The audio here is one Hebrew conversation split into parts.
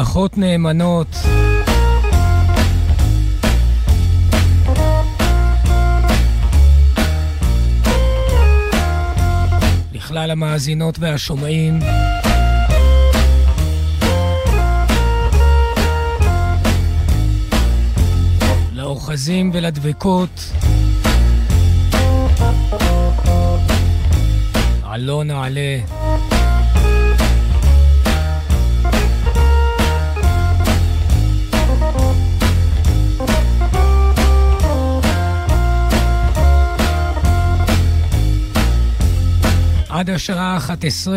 ברכות נאמנות לכלל המאזינות והשומעים, לאוחזים ולדבקות, עלו נעלה. עד השעה 11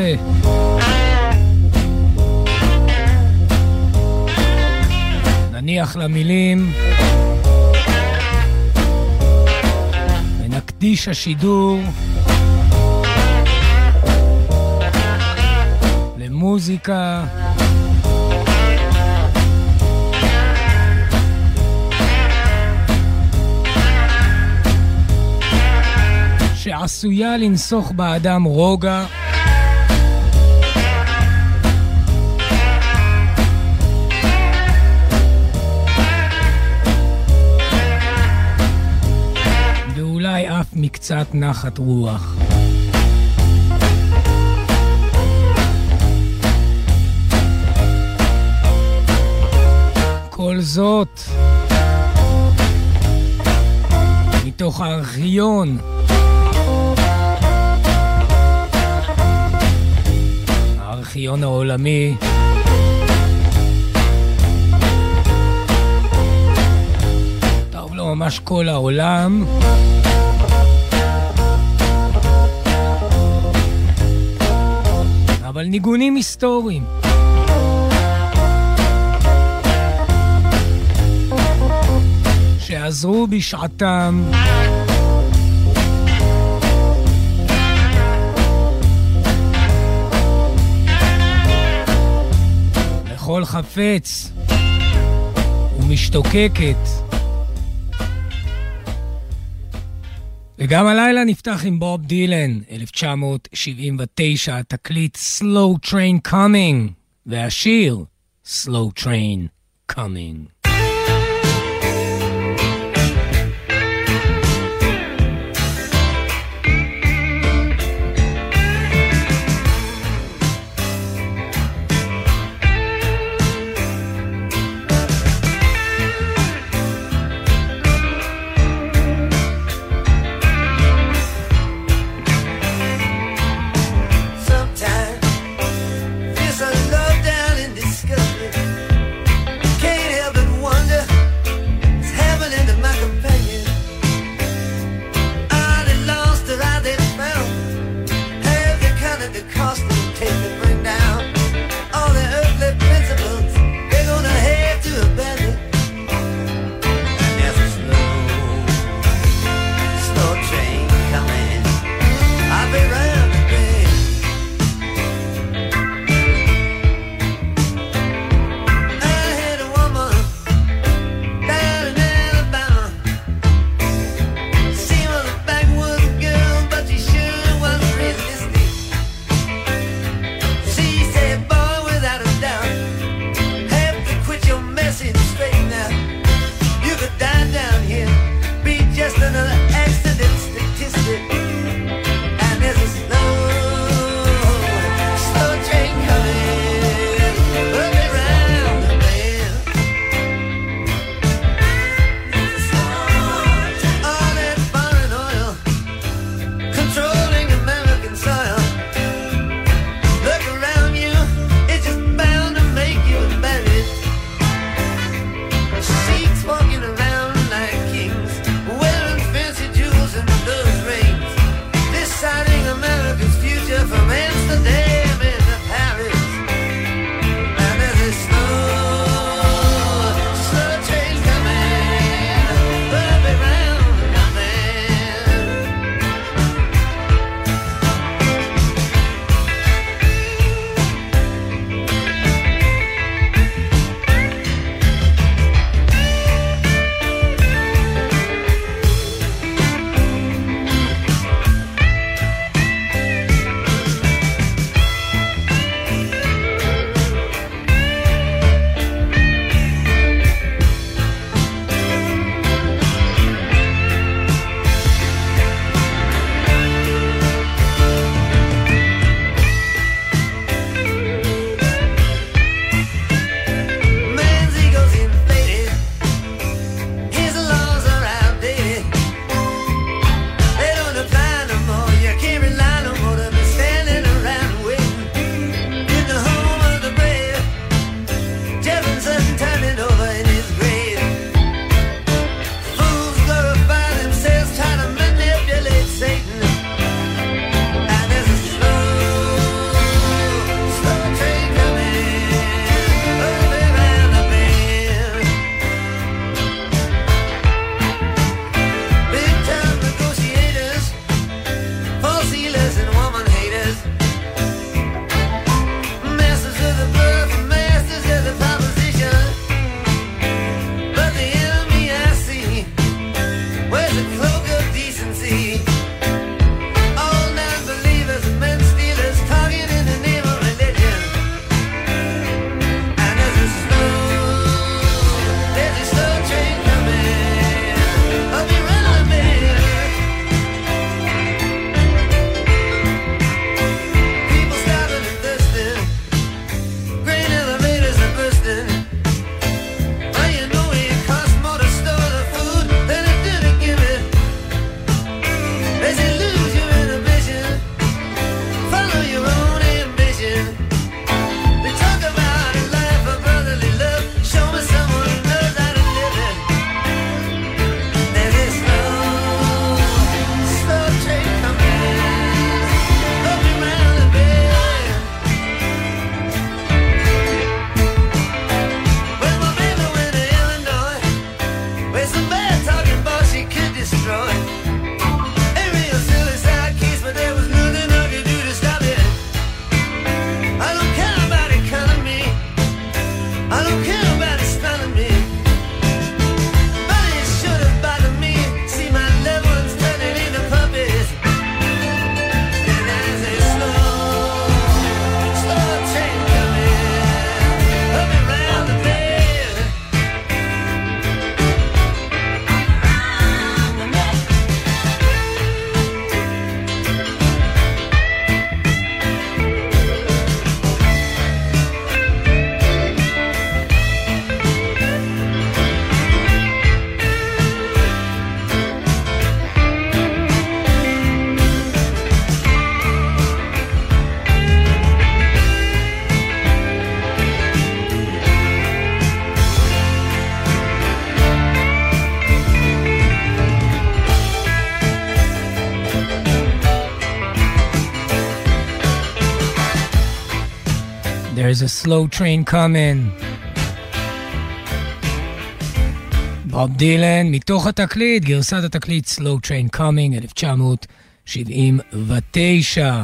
נניח למילים ונקדיש השידור למוזיקה שעשויה לנסוך באדם רוגע ואולי אף מקצת נחת רוח. כל זאת מתוך הארכיון הארכיון העולמי טוב לא ממש כל העולם אבל ניגונים היסטוריים שעזרו בשעתם לכל חפץ ומשתוקקת. וגם הלילה נפתח עם בוב דילן, 1979, תקליט Slow Train Coming, והשיר Slow Train Coming. Love down and disgust me. Can't help but There's a slow train coming. בוב דילן, מתוך התקליט, גרסת התקליט Slow Train Coming, 1979.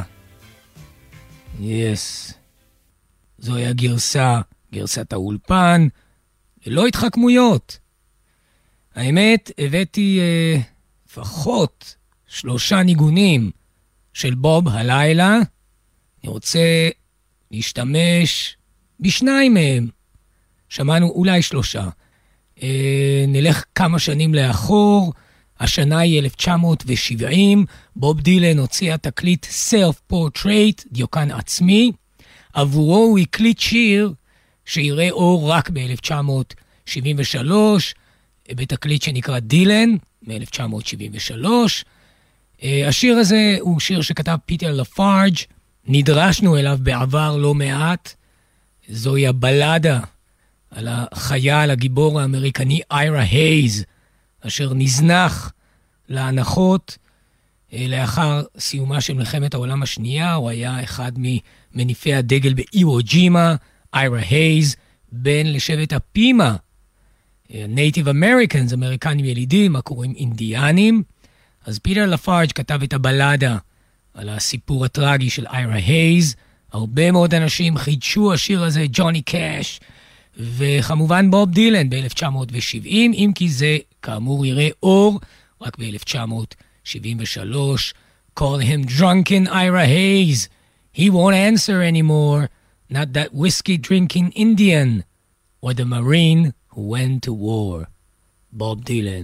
Yes. זוהי הגרסה, גרסת האולפן, ללא התחכמויות. האמת, הבאתי לפחות 3 ניגונים של בוב הלילה. אני רוצה להשתמש ב2 מהם. שמענו אולי 3. נלך כמה שנים לאחור. השנה היא 1970. בוב דילן הוציא התקליט Self Portrait, דיוקן עצמי. עבורו הוא הקליט שיר שיראה אור רק ב-1973, בתקליט שנקרא דילן, מ-1973. השיר הזה הוא שיר שכתב פיטר לפארג', נדרשנו אליו בעבר לא מעט. זוהי הבלדה על החייל, הגיבור האמריקני איירה הייז, אשר נזנח להנחות לאחר סיומה של מלחמת העולם השנייה. הוא היה אחד ממניפי הדגל באיוו ג'ימה. איירה הייז, בן לשבט הפימה, נייטיב אמריקנס, אמריקנים ילידים, הקוראים אינדיאנים. אז פיטר לפארג' כתב את הבלדה על הסיפור הטרגי של איירה הייז. הרבה מאוד אנשים חידשו השיר הזה, ג'וני קאש, וכמובן בוב דילן ב-1970, אם כי זה כאמור יראה אור רק ב-1973. Call him drunken Ira Hayes. He won't answer anymore. Not that whiskey-drinking Indian or the Marine who went to war. Bob Dylan.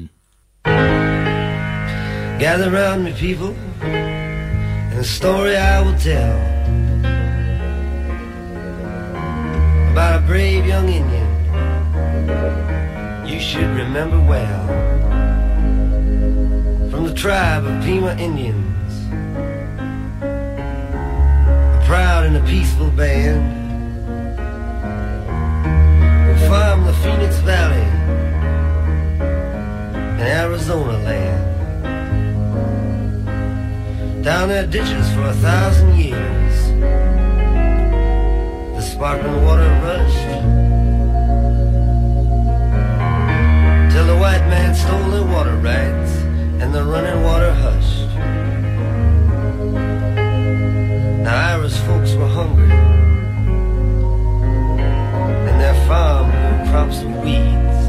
Gather round me, people, and a story I will tell about a brave young Indian you should remember well. From the tribe of Pima Indians, a proud and a peaceful band who farm the Phoenix Valley in Arizona land. Down their ditches for 1,000 years, the sparkling water rushed till the white man stole their water rights and the running water hushed. Now Ira's folks were hungry and their farm grew crops of weeds.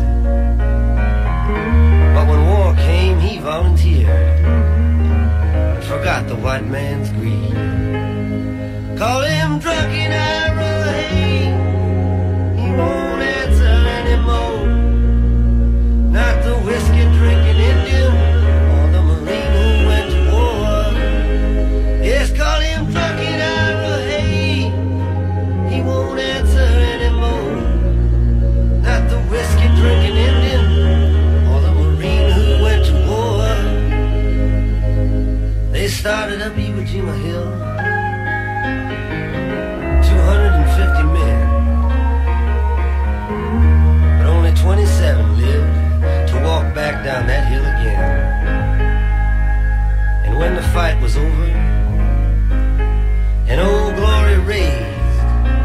But when war came, he volunteered and forgot the white man's greed. Call him drunken Ira Hayes, he won't answer anymore. Not the whiskey-drinking Indian or the Marine who went to war. Yes, call him drunken Ira Hayes, he won't answer anymore. Not the whiskey-drinking Indian or the Marine who went to war. They started up Iwo Jima Hill, 250 men, but only 27 lived to walk back down that hill again. And when the fight was over and Old Glory raised,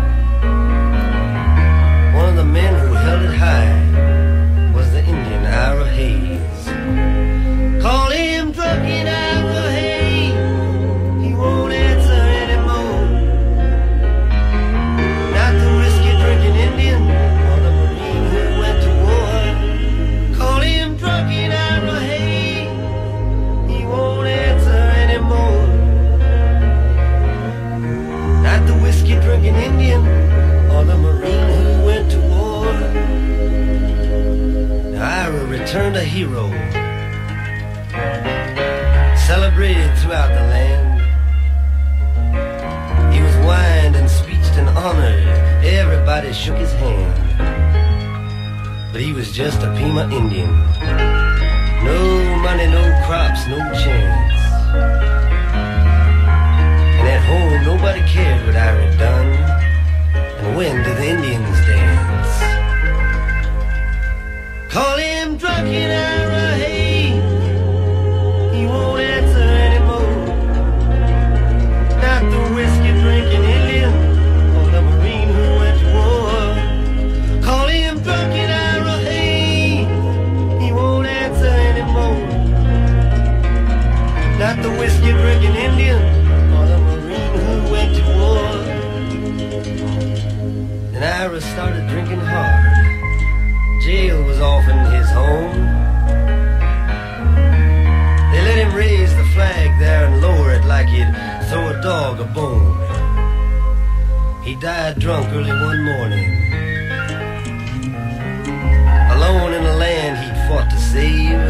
one of the men who held it high was the Indian Ira Hayes. Call him drunken Ira Hayes, he won't answer anymore. Not the whiskey-drinking Indian or the Marine who went to war. Call him drunken Ira Hayes, he won't answer anymore. Not the whiskey-drinking Indian or the Marine who went to war. Now Ira returned a hero, celebrated throughout the land. He was wined and speeched and honored. Everybody shook his hand. But he was just a Pima Indian. No money, no crops, no chance. And at home nobody cared what Ira had done. And when did the Indians dance? Call him drunken Ira Hayes, he won't answer anymore. Not the whiskey-drinking Indian or the Marine who home. They let him raise the flag there and lower it like he'd throw a dog a bone. He died drunk early one morning, alone in a land he'd fought to save.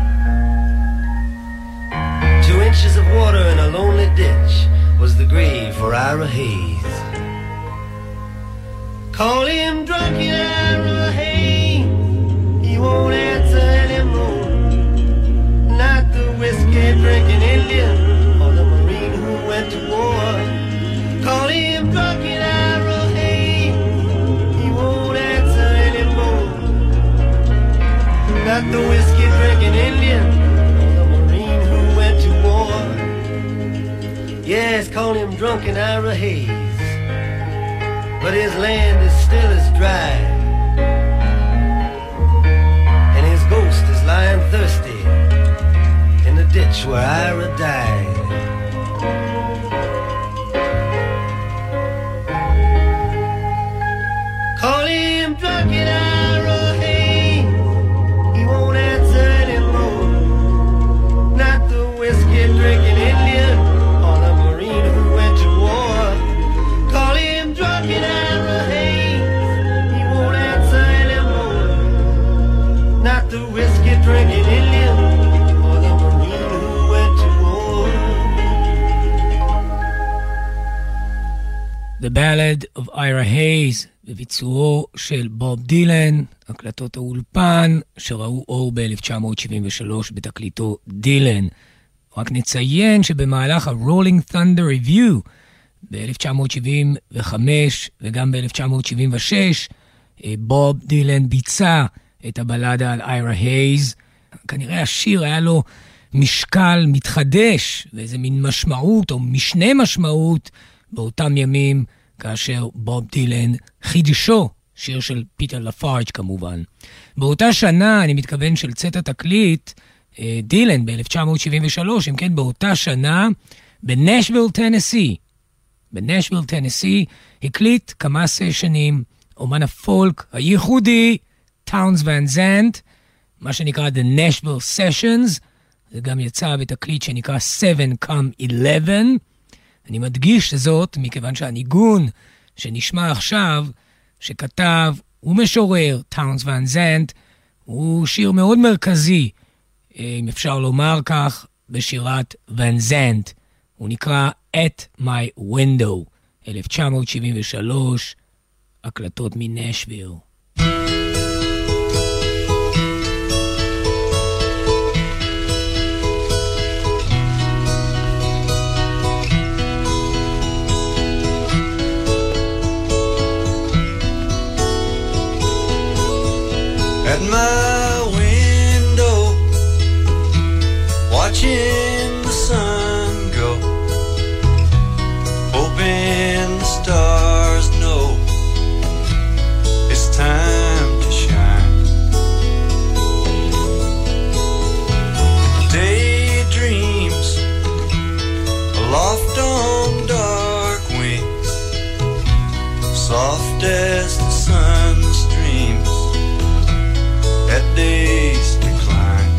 2 inches of water in a lonely ditch was the grave for Ira Hayes. Call him drunken Ira Hayes, he won't answer anymore. Not the whiskey drinking Indian or the Marine who went to war. Call him drunken Ira Hayes, he won't answer anymore. Not the whiskey drinking Indian or the Marine who went to war. Yes, call him drunken Ira Hayes, but his land is still as dry, and his ghost is lying thirsty in the ditch where Ira died. Call him drunken Ira Hayes, he won't answer anymore. Not the whiskey drinking Indian or the Marine who went to war. Call him drunken Ira Hayes, he won't answer anymore. Not the whiskey drinking Indian or the Marine who went to war. The Ballad of Ira Hayes, בביצועו של בוב דילן, הקלטות האולפן שראו אור ב-1973 בתקליטו דילן. רק נציין שבמהלך ה-Rolling Thunder Review ב-1975 וגם ב-1976 בוב דילן ביצע את הבלדה על איירה הייז. כנראה השיר היה לו משקל מתחדש ואיזה מין משמעות או משנה משמעות באותם ימים כאשר בוב דילן חידשו, שיר של פיטר לפארג' כמובן. באותה שנה, אני מתכוון של צאת התקליט, דילן ב-1973, אם כן באותה שנה, בנשוויל טנסי, הקליט כמה סשנים, אומן הפולק הייחודי, טאונס ון זנט, מה שנקרא The Nashville Sessions, זה גם יצא בתקליט שנקרא 7 Come 11, אני מדגיש זאת מכיוון שהניגון שנשמע עכשיו, שכתב ומשורר טאונס ון זנט, הוא שיר מאוד מרכזי, אם אפשר לומר כך, בשירת ון זנט. הוא נקרא At My Window, 1973, הקלטות מנשוויל. At my window, watching the sun go, hoping the stars know it's time to shine. Daydreams aloft on dark wings, soft as the sun's streams at day's decline.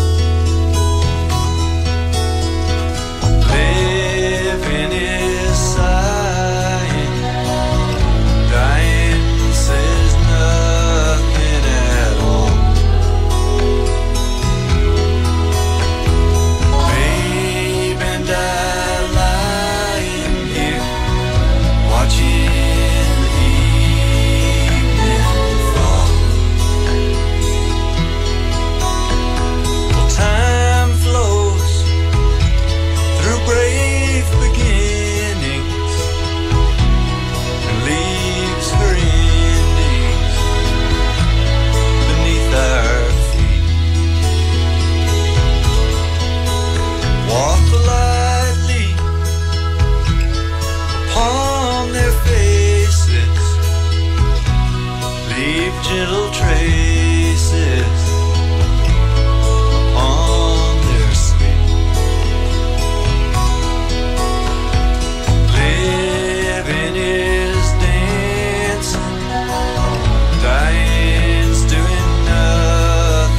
Living is sighing, dying says nothing at all. Babe and I lying here, watching the evening fall. Time flows through brave beginnings and leaves her endings beneath our feet. Walk lightly upon their faces, leave gentle traces on their sleep. Living is dancing, dying's doing nothing.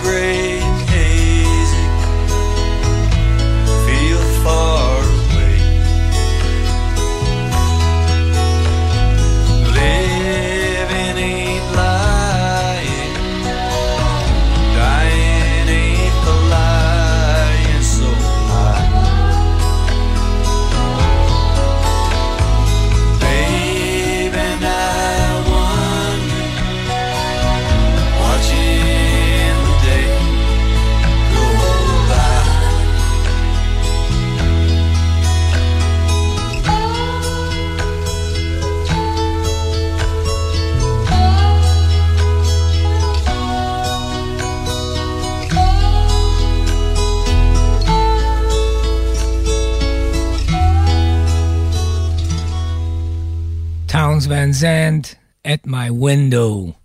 gray and hazy, feel far away. Living ain't lying, dying ain't the lying so high. Baby, I wonder, watching the day go by. Townes Van Zandt, At My Window,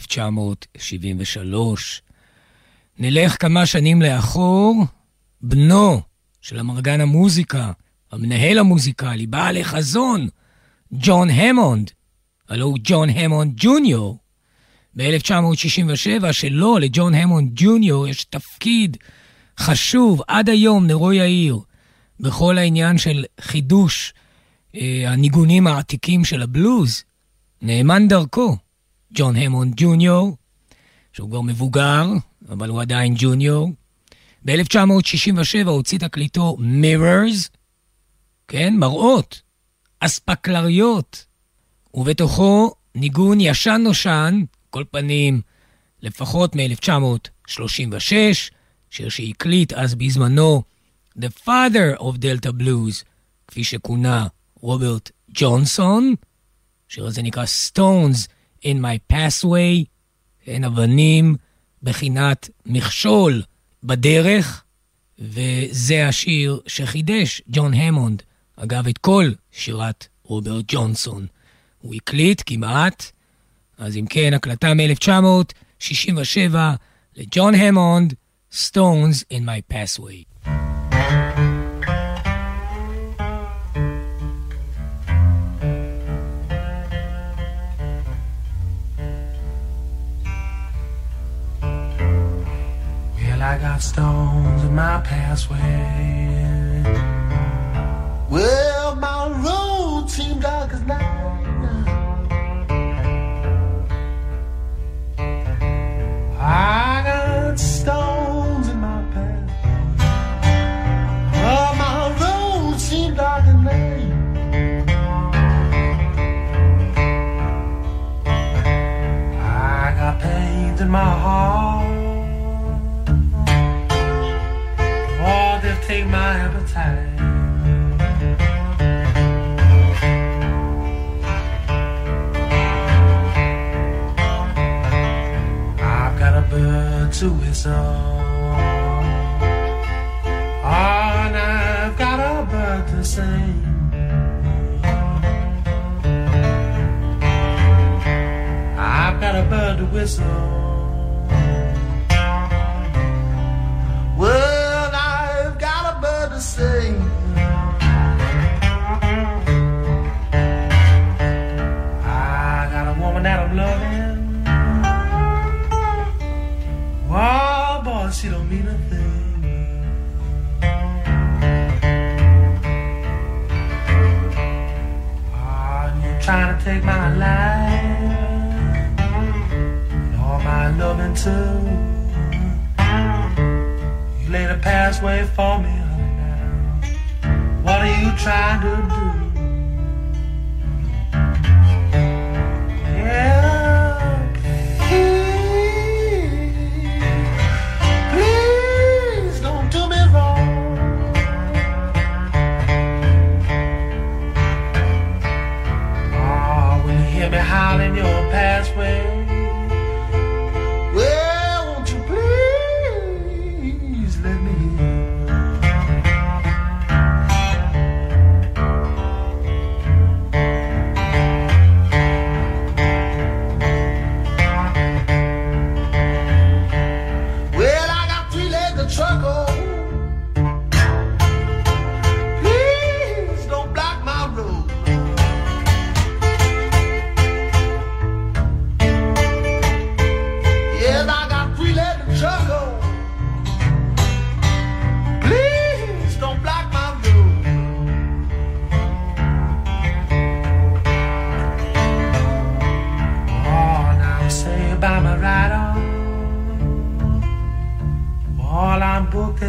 1973. נלך כמה שנים לאחור, בנו של המרגן המוזיקה, המנהל המוזיקלי, בעל החזון, ג'ון המונד, הלוא הוא ג'ון המונד ג'וניור. ב-1967 שלו, לג'ון המונד ג'וניור, יש תפקיד חשוב עד היום, נרו יאיר, בכל העניין של חידוש הניגונים העתיקים של הבלוז. נאמן דרכו, ג'ון המונד ג'וניור, שהוא כבר מבוגר, אבל הוא עדיין ג'וניור. ב-1967 הוציא תקליטו Mirrors, כן, מראות, אספקלריות, ובתוכו ניגון ישן נושן, כל פנים לפחות מ-1936, שיר שהקליט אז בזמנו The Father of Delta Blues, כפי שכונה רוברט ג'ונסון. שיר הזה נקרא Stones in My Pathway, אין אבנים בחינת מכשול בדרך, וזה השיר שחידש ג'ון המונד, אגב את כל שירת רוברט ג'ונסון. הוא הקליט כמעט, אז אם כן, הקלטה מ-1967 לג'ון המונד, Stones in My Pathway. I got stones in my pathway. Well, my road seemed dark as night. I got stones in my path. Well, my road seemed dark as night. I got pains in my heart. Oh, they'll take my appetite. I've got a bird to whistle. Oh, and I've got a bird to sing. I've got a bird to whistle. Well, I've got a bird to sing. I got a woman that I'm loving. Oh, boy, she don't mean a thing. Oh, you're trying to take my life and all my loving too. Lay the pathway for me, honey, now. What are you trying to do? Yeah, please don't do me wrong. Oh, when you hear me howling your pathway, well, won't you please let me in?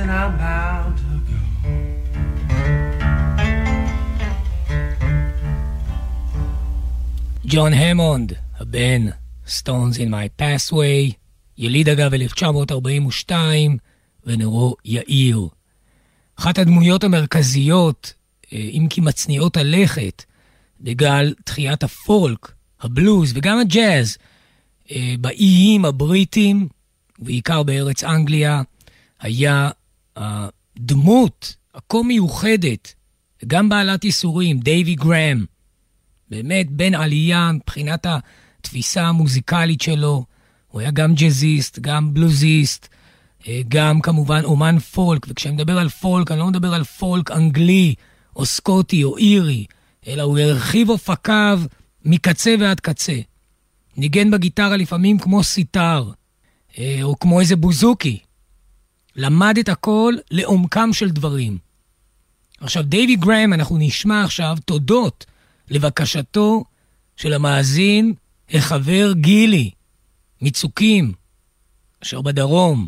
then I'm bound to go. ג'ון המונד, הבן, Stones in My Pathway, יליד אגב 1942, ונרו יאיר. אחת הדמויות המרכזיות, אם כי מצניעות הלכת, בגל תחיית הפולק, הבלוז וגם הג'אז, באיים הבריטים, בעיקר בארץ אנגליה, היה הדמות הכה מיוחדת, וגם בעלת ייסורים, דייבי גרם, באמת בן עלייה מבחינת התפיסה המוזיקלית שלו, הוא היה גם ג'אזיסט, גם בלוזיסט, גם כמובן אומן פולק, וכשאני מדבר על פולק, אני לא מדבר על פולק אנגלי, או סקוטי, או אירי, אלא הוא הרחיב אופקיו מקצה ועד קצה. ניגן בגיטרה לפעמים כמו סיטר, או כמו איזה בוזוקי. למד את הכל לעומקם של דברים. עכשיו, דייבי גרם, אנחנו נשמע עכשיו תודות לבקשתו של המאזין, החבר גילי, מצוקים, אשר בדרום,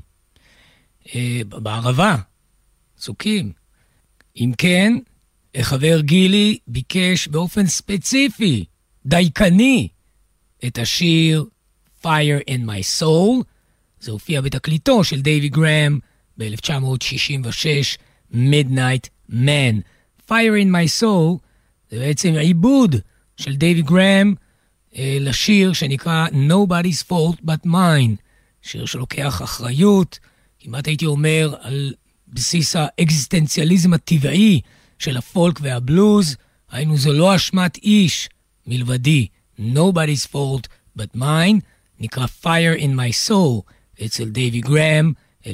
בערבה, צוקים. אם כן, החבר גילי ביקש באופן ספציפי, דייקני, את השיר Fire in My Soul. זה הופיע בתקליטו של דייבי גרם ב-1966, Midnight Man. Fire in My Soul זה בעצם עיבוד של דייבי גרם לשיר שנקרא Nobody's Fault But Mine, שיר שלוקח אחריות, כמעט הייתי אומר על בסיס האקזיסטנציאליזם הטבעי של הפולק והבלוז, היינו זו לא אשמת איש מלבדי, Nobody's Fault But Mine, נקרא Fire in My Soul, אצל דייבי גרם,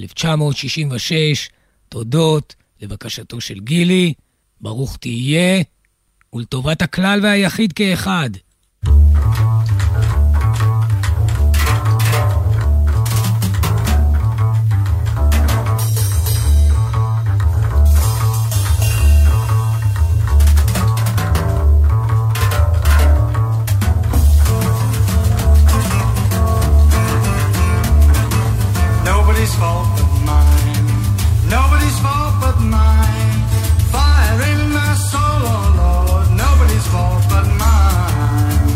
1966, תודות לבקשתו של גילי, ברוך תהיה, ולטובת הכלל והיחיד כאחד. Nobody's fault but mine. Nobody's fault but mine. Fire in my soul, oh Lord. Nobody's fault but mine.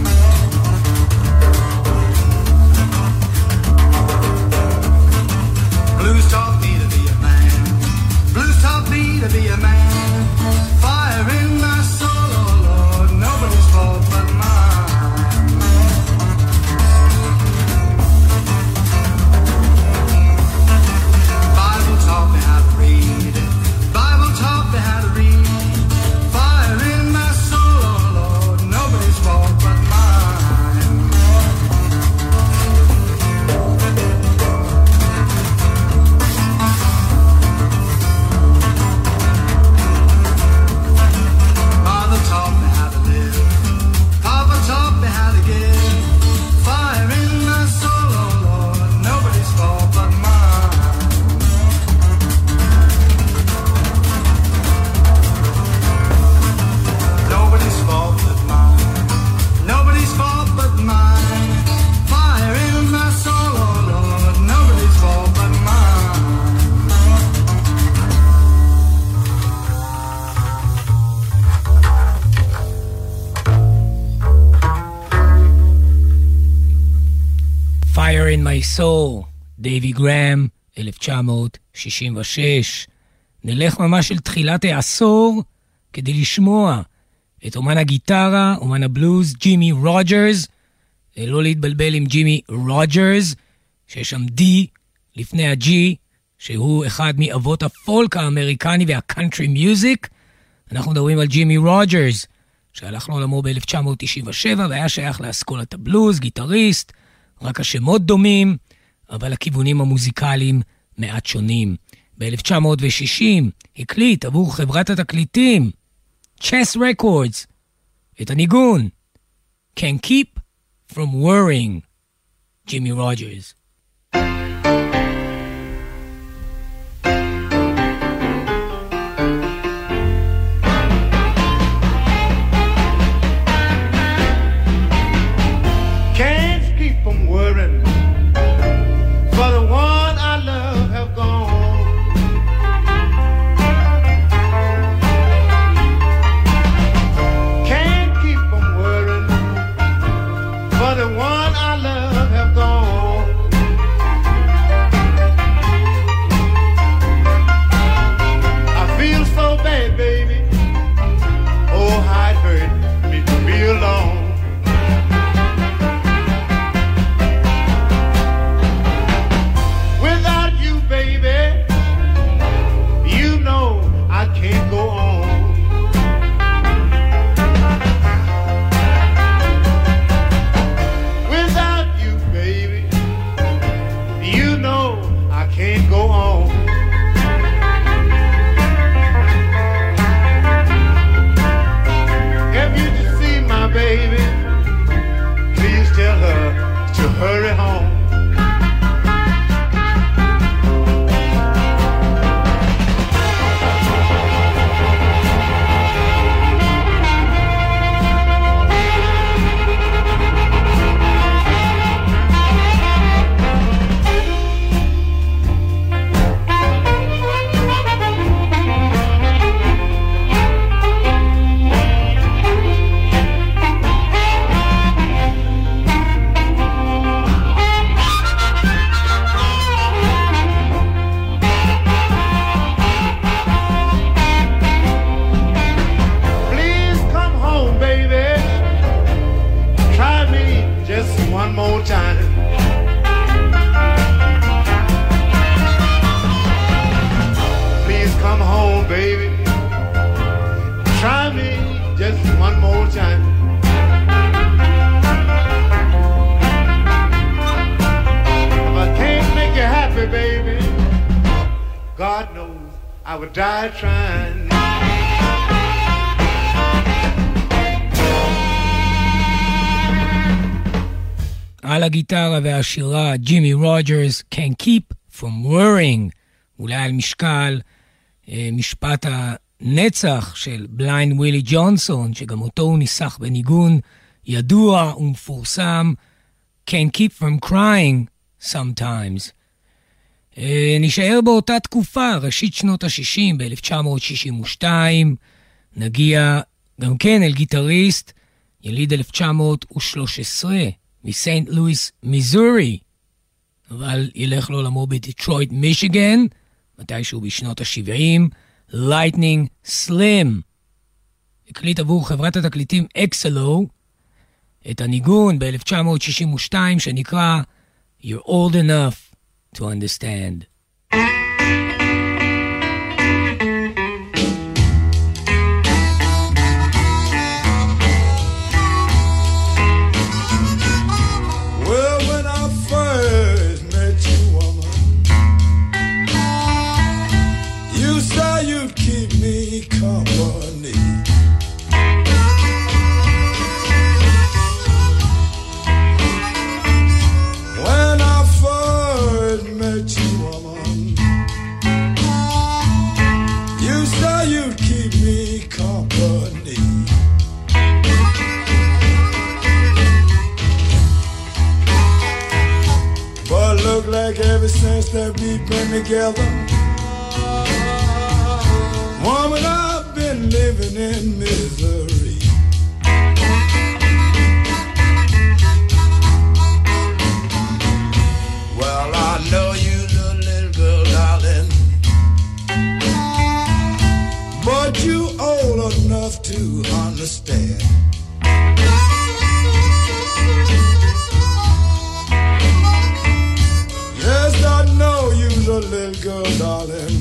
Blues taught me to be a man. Blues taught me to be a man. Fire in my soul, oh Lord. Nobody's fault but mine. Taught me how to read. Bible taught me how to read. Fire in my soul, oh Lord. Nobody's fault but mine. Mother taught me how to live. Papa taught me how to give. Fire in my soul, oh Lord. Nobody's fault but mine. Nobody's fault but mine. Nobody's fault but mine. Fire in my soul, oh Lord. Nobody's fault but mine. Fire in My Soul, דייבי גרם, 1966. נלך ממש אל תחילת העשור כדי לשמוע את אומן הגיטרה, אומן הבלוז, ג'ימי רוג'רס. לא להתבלבל עם ג'ימי רוג'רס, שיש שם D לפני ה-G, שהוא אחד מאבות הפולק האמריקני והקאנטרי מיוזיק. אנחנו מדברים על ג'ימי רוג'רס, שהלך לעולמו ב-1997, והיה שייך לאסכולת הבלוז, גיטריסט, רק השמות דומים, אבל הכיוונים המוזיקליים מעט שונים. ב-1960 הקליט עבור חברת התקליטים, Chess Records, את הניגון, Can't Keep From Worrying, ג'ימי רוג'רס. For the one I love have gone. I would die trying. על הגיטרה והשירה, ג'ימי רוג'רס, Can't Keep From Worrying, אולי על משקל משפט הנצח של בליינד ווילי ג'ונסון, שגם אותו הוא ניסח בניגון ידוע ומפורסם, Can't Keep From Crying Sometimes. נשאר באותה תקופה, ראשית שנות ה-60, ב-1962, נגיע גם כן אל גיטריסט, יליד 1913, מסנט לואיס, מיזורי, אבל ילך לעולמו בדיטרויט, מישיגן, מתישהו בשנות ה-70, לייטנינג סלים. הקליט עבור חברת התקליטים אקסלו את הניגון ב-1962 שנקרא You're Old Enough to Understand. Company. When I first met you, woman, you said you'd keep me company. But look like ever since that we've been together, woman, I've been living in misery. Well, I know you, the little girl, darling, but you old enough to understand. Yes, I know you, the little girl, darling,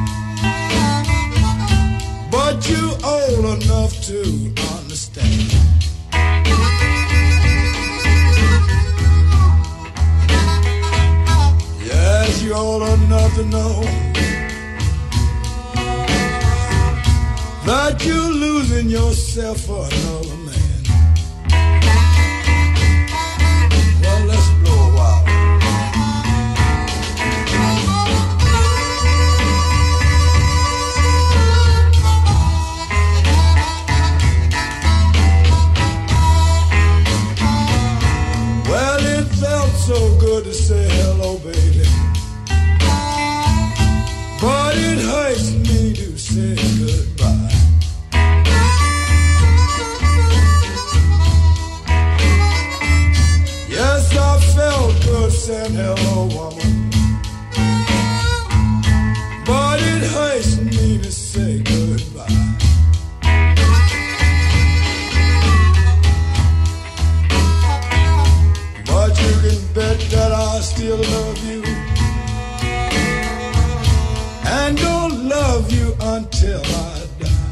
but you old enough to understand. Yes, you old enough to know that you're losing yourself for another man. Well, let's blow a while. So good to say hello, baby, but it hurts me to say goodbye. Yes, I felt good saying hello, woman, but it hurts me to say goodbye. But you can bet that I still love you, and don't love you until I die.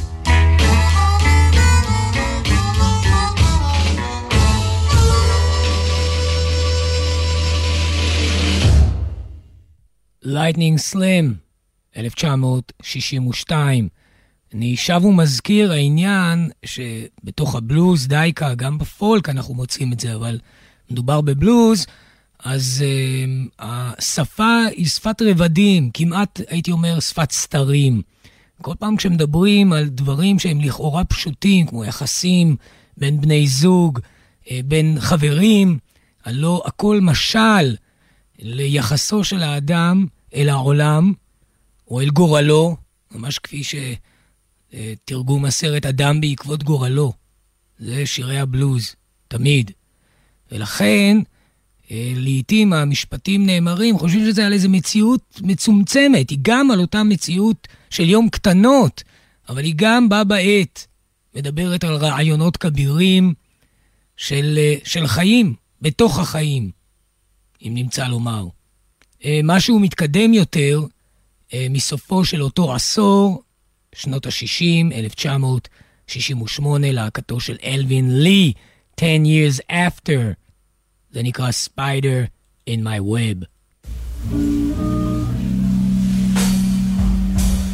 Lightning Slim, 1962. אני שב ומזכיר העניין שבתוך הבלוז דייקה, גם בפולק אנחנו מוצאים את זה, אבל מדובר בבלוז, אז השפה היא שפת רבדים, כמעט הייתי אומר שפת סתרים. כל פעם כשמדברים על דברים שהם לכאורה פשוטים, כמו יחסים בין בני זוג, בין חברים, הלא הכל משל ליחסו של האדם אל העולם, או אל גורלו, ממש כפי שתרגום הסרט אדם בעקבות גורלו. זה שירי הבלוז, תמיד. ולכן, לעתים המשפטים נאמרים, חושבים שזה על איזו מציאות מצומצמת, היא גם על אותה מציאות של יום קטנות, אבל היא גם בה בעת, מדברת על רעיונות כבירים של חיים, בתוך החיים, אם נמצא לומר. משהו מתקדם יותר, מסופו של אותו עשור, שנות ה-60, 1968, להקתו של אלווין לי, 10 years after, זה נקרא Spider in my web.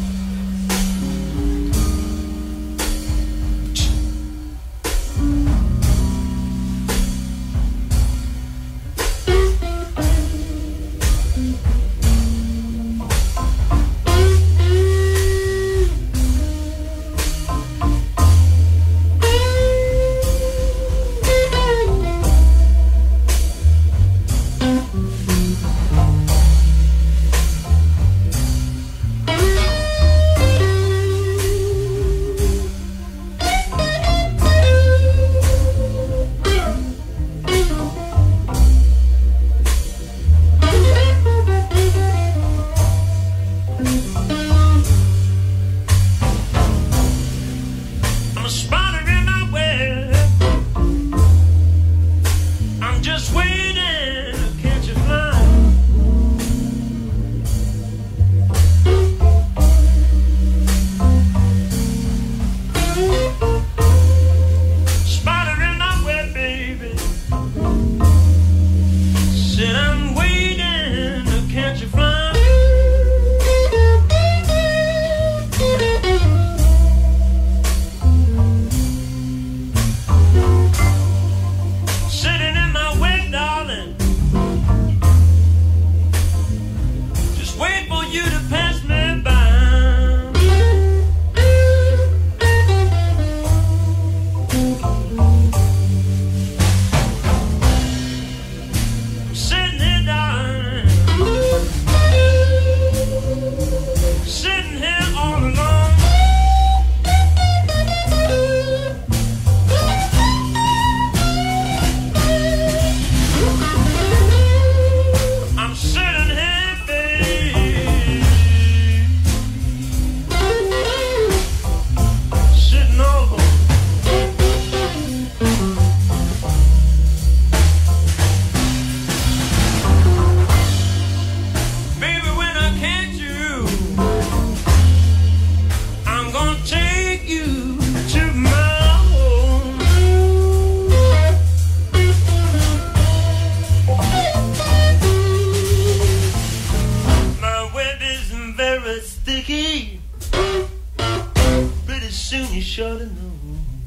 should have known.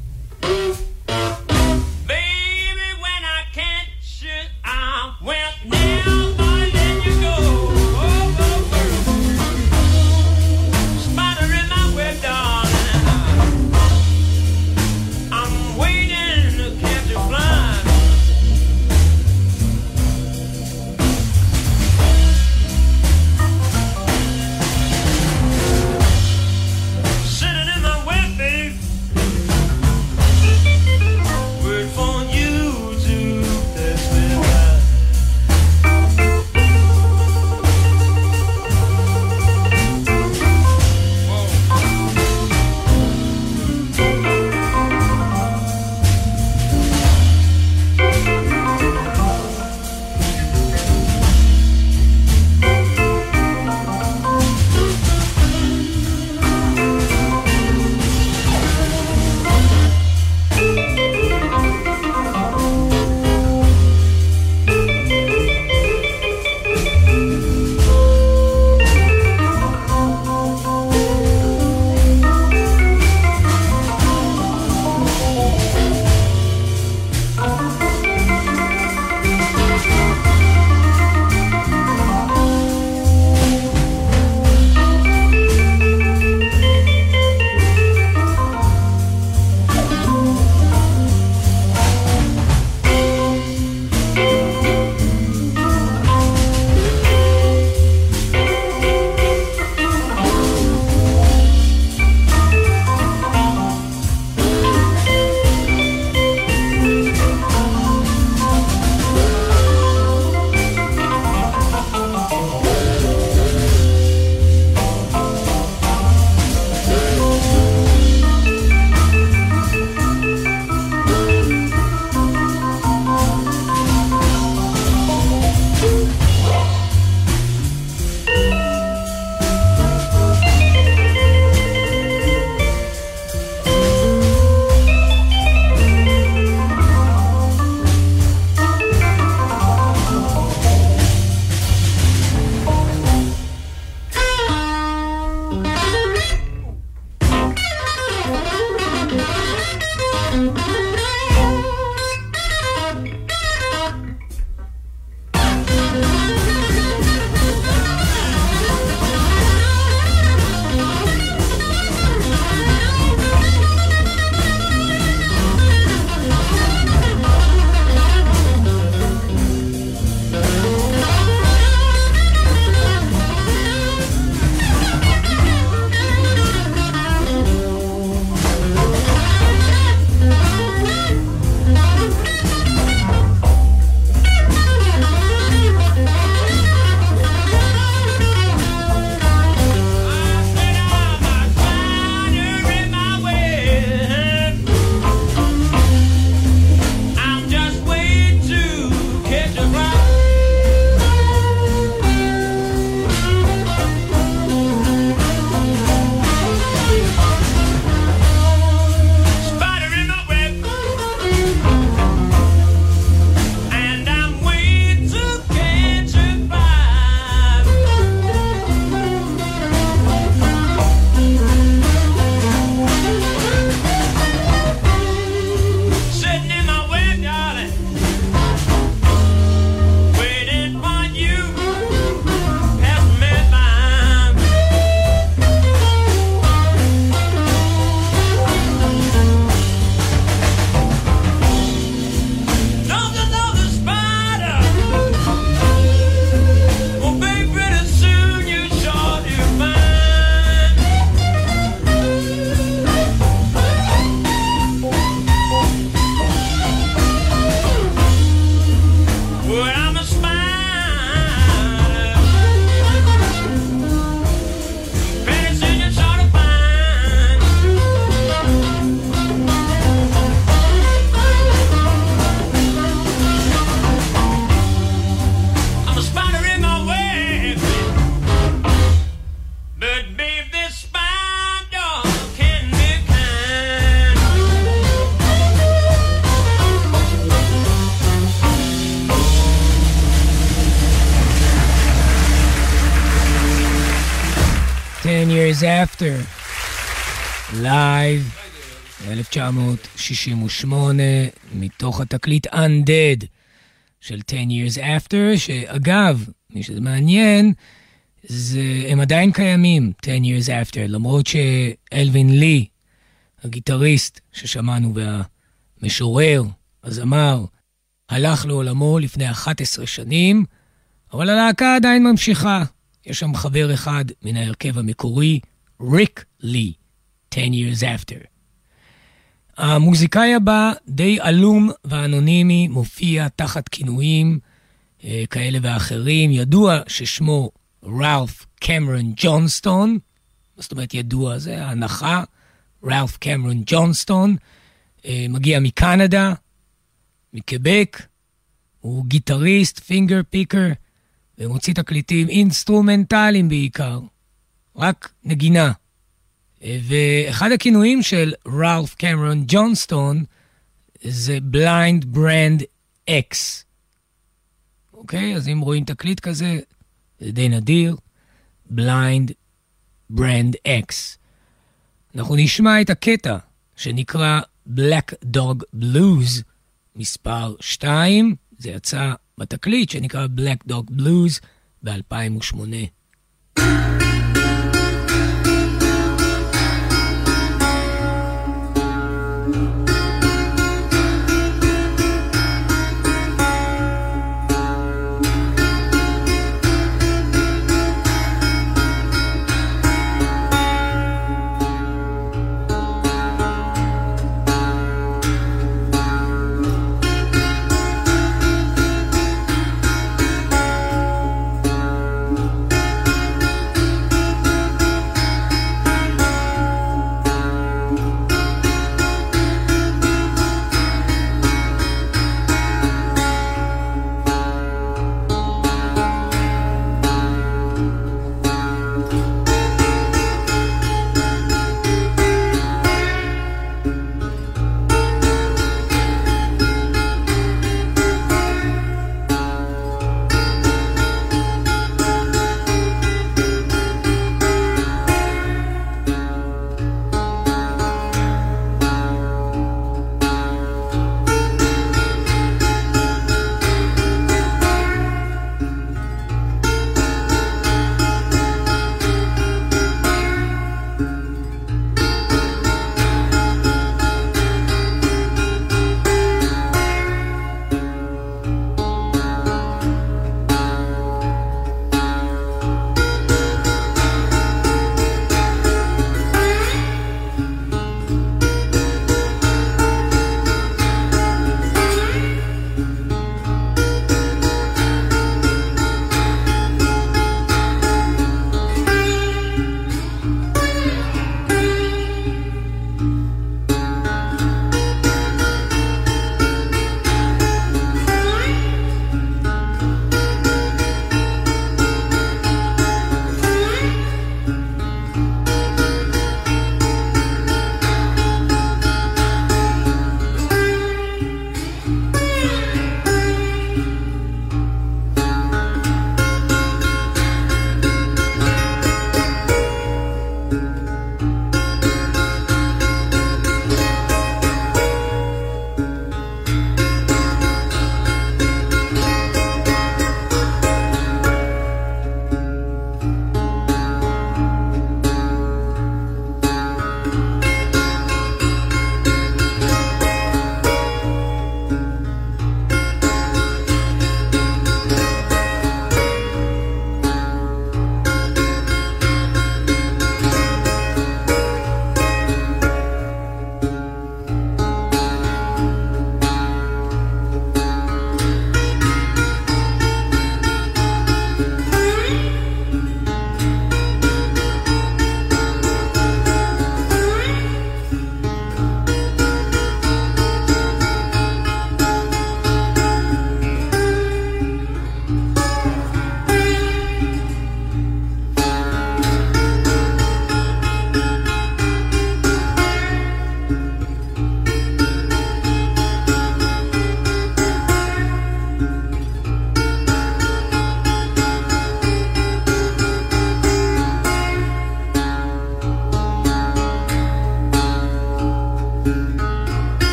Baby, when I catch you, I will never let you go. Oh, oh, oh. Spider in my web, darling. I'm waiting to catch you flying. Sitting in my web, babe. Wait for you to pass me by. Years after, live 1968, מתוך התקליט Undead של 10 Years After, שאגב, מי שזה מעניין, הם עדיין קיימים, 10 Years After, למרות שאלווין לי, הגיטריסט ששמענו והמשורר, הזמר, הלך לעולמו לפני 11 שנים, אבל הלהקה עדיין ממשיכה. יש שם חבר אחד מן ההרכב המקורי, ריק לי, 10 Years After. המוזיקאי הבא, די עלום ואנונימי, מופיע תחת כינויים כאלה ואחרים. ידוע ששמו ראלף קמרון ג'ונסטון, זאת אומרת ידוע, זה ההנחה, ראלף קמרון ג'ונסטון, מגיע מקנדה, מקבק, הוא גיטריסט, פינגר פיקר, ומוציא תקליטים אינסטרומנטליים בעיקר, רק נגינה. ואחד הכינויים של ראלף קמרון ג'ונסטון זה בליינד ברנד אקס. אוקיי? אז אם רואים תקליט כזה, זה די נדיר, בליינד ברנד אקס. אנחנו נשמע את הקטע שנקרא Black Dog Blues מספר 2, זה יצא בתקליט שנקרא Black Dog Blues ב-2008.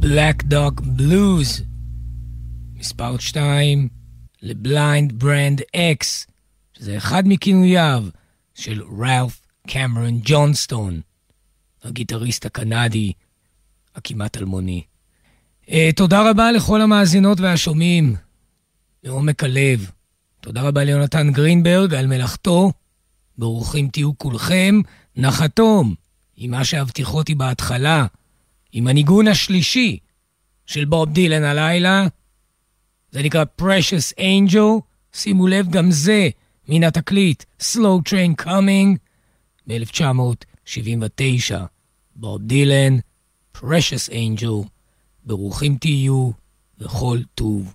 Black Dog Blues. מספר 2 לבליינד ברנד אקס, שזה אחד מכינוייו של רלף קמרון ג'ונסטון, הגיטריסט הקנדי הכמעט אלמוני. תודה רבה לכל המאזינות והשומעים מעומק הלב. תודה רבה ליונתן גרינברג על מלאכתו. ברוכים תהיו כולכם. נחתום עם מה שהבטיחותי בהתחלה, עם הניגון השלישי של בוב דילן הלילה. זה נקרא Precious Angel. שימו לב, גם זה מן התקליט Slow Train Coming ב-1979. בוב דילן, Precious Angel. ברוכים תהיו וכל טוב.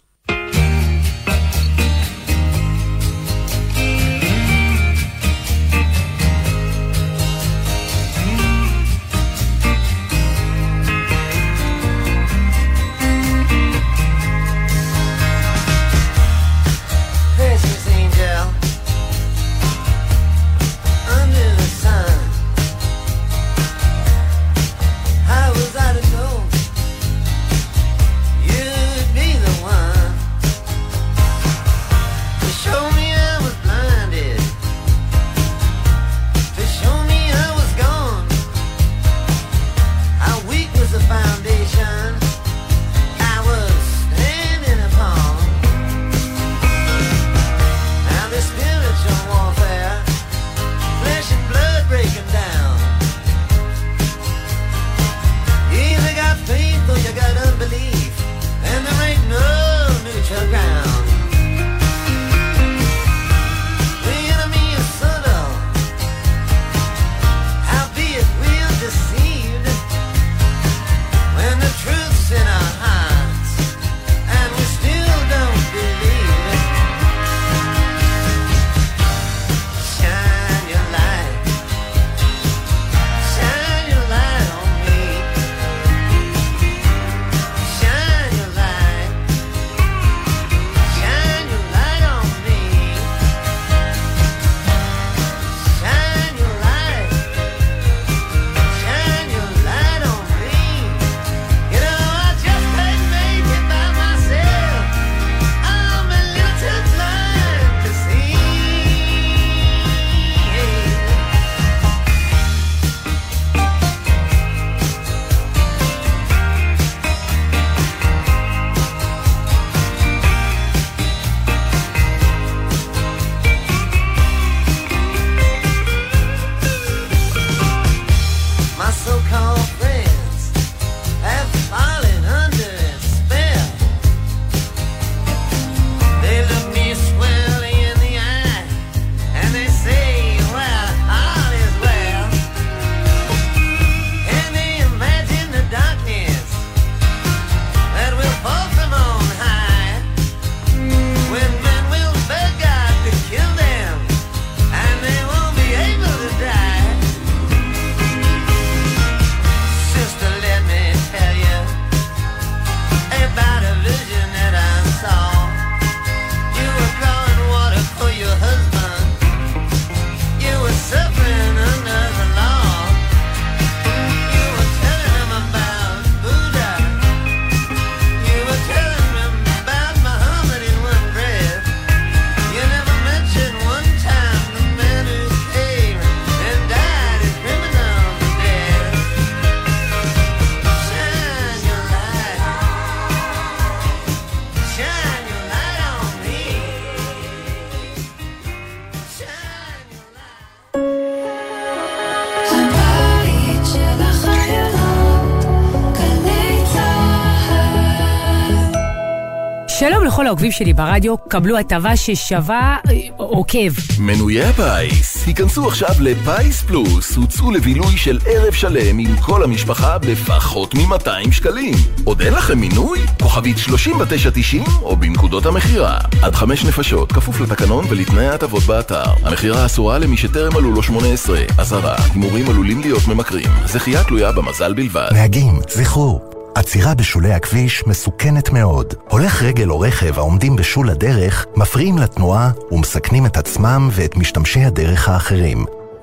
שלום לכל העוקבים שלי ברדיו, קבלו הטבה ששווה עוקב. מנויי הפיס, היכנסו עכשיו לפייס פלוס, הוצאו לבילוי של ערב שלם עם כל המשפחה בפחות מ-200 שקלים. עוד אין לכם מינוי? כוכבית 3990 או בנקודות המחירה. עד 5 נפשות, כפוף לתקנון ולתנאי ההטבות באתר. המחירה אסורה למי שטרם מלאו לו 18. אזהרה, הימורים עלולים להיות ממכרים. זכייה תלויה במזל בלבד. נהגים, זכרו, עצירה בשולי הכביש מסוכנת מאוד. הולך רגל או רכב העומדים בשול הדרך מפריעים לתנועה ומסכנים את עצמם ואת משתמשי הדרך האחרים.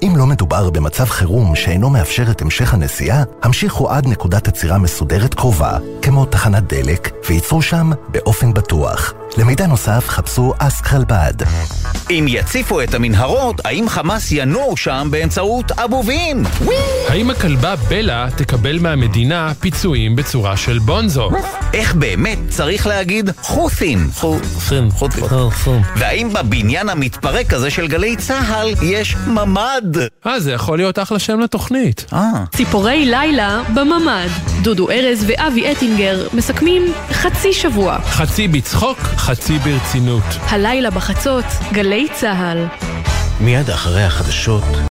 אם לא מדובר במצב חירום שאינו מאפשר את המשך הנסיעה, המשיכו עד נקודת עצירה מסודרת קרובה, כמו תחנת דלק, וייצרו שם באופן בטוח. למידע נוסף חפשו אסק חלבד. אם יציפו את המנהרות, האם חמאס ינועו שם באמצעות אבובים? האם הכלבה בלה תקבל מהמדינה פיצויים בצורה של בונזו? איך באמת צריך להגיד חות'ים? והאם בבניין המתפרק הזה של גלי צהל יש ממד? זה יכול להיות אחלה שם לתוכנית. ציפורי לילה בממד. דודו ארז ואבי אטינגר מסכמים חצי שבוע. חצי בצחוק, חצי ברצינות. הלילה בחצות, גלי צהל. מיד אחרי החדשות